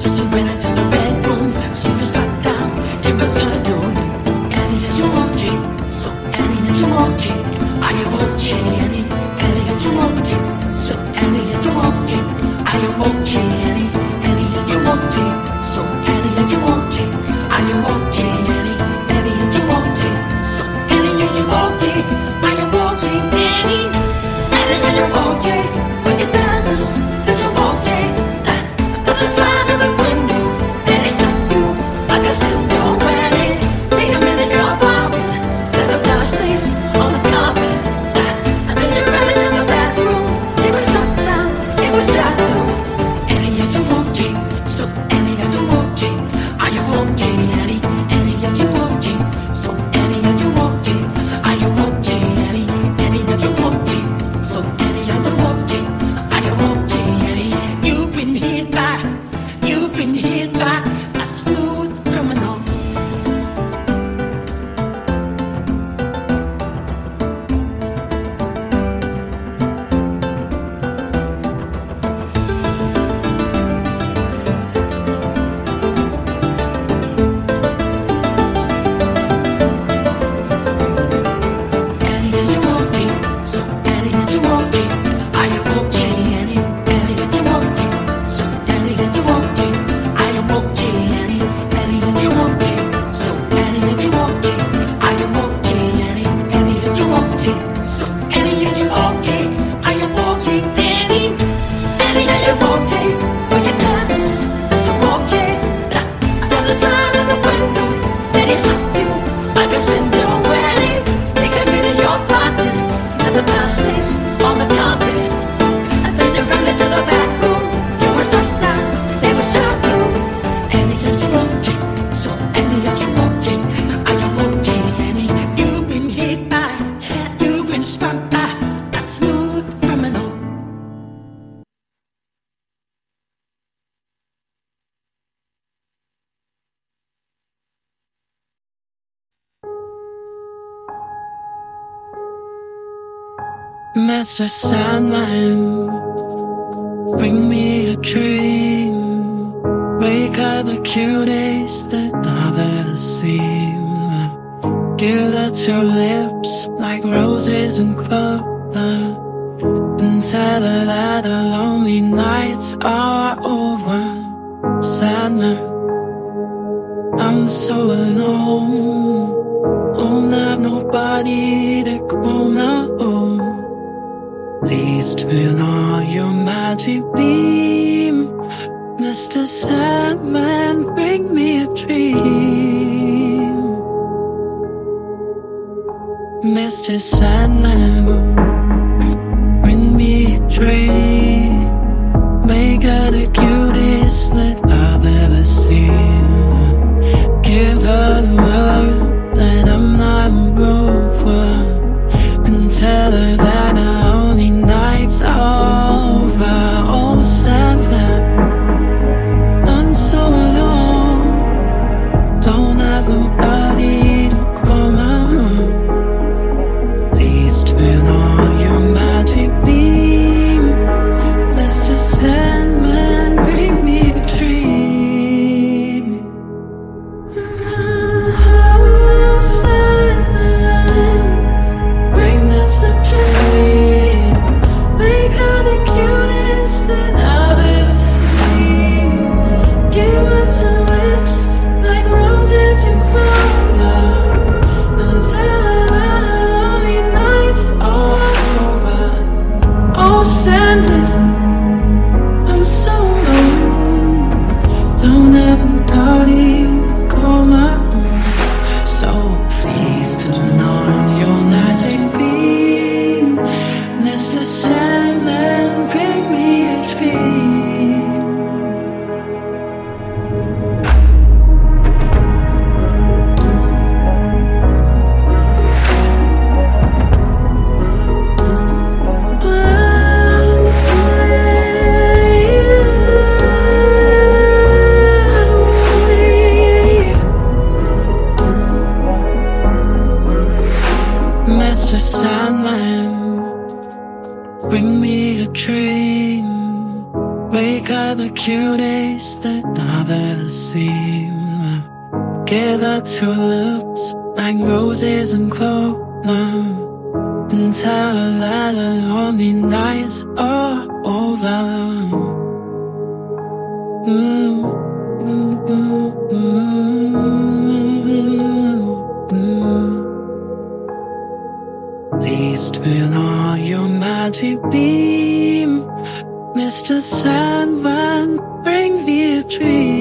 Mr. Sandman, bring me a dream. Make her the cutest that I've ever seen. Give her to your lips like roses and clover, and tell her that her lonely nights are over. Sandman, I'm so alone. Don't have nobody to call my own. Please turn on your magic beam. Mr. Sandman, bring me a dream. Mr. Sandman, bring me a dream. Make her the cutest that I've ever seen. Give her the word that I'm not over, and tell her that our only nights are over. Oh, Sandman, I'm so alone. Don't have nobody to call my own. Please turn on your magic beam. Mr. Sandman, bring me a dream. Oh, Sandman, bring us a dream. Make her the cutest that I've ever seen. Give her to lips like roses and clover, and tell her that her lonely nights are over. Oh, Sandman, I'm so alone. Don't have nobody to call my own. So please turn on your magic beam. Mr. Sandman, bring me a dream. cutest that I've ever seen. Gather tulips like roses and clover, and tell her that the lonely nights are over. Please turn on your magic beam, Mr. Sandman, bring me a dream.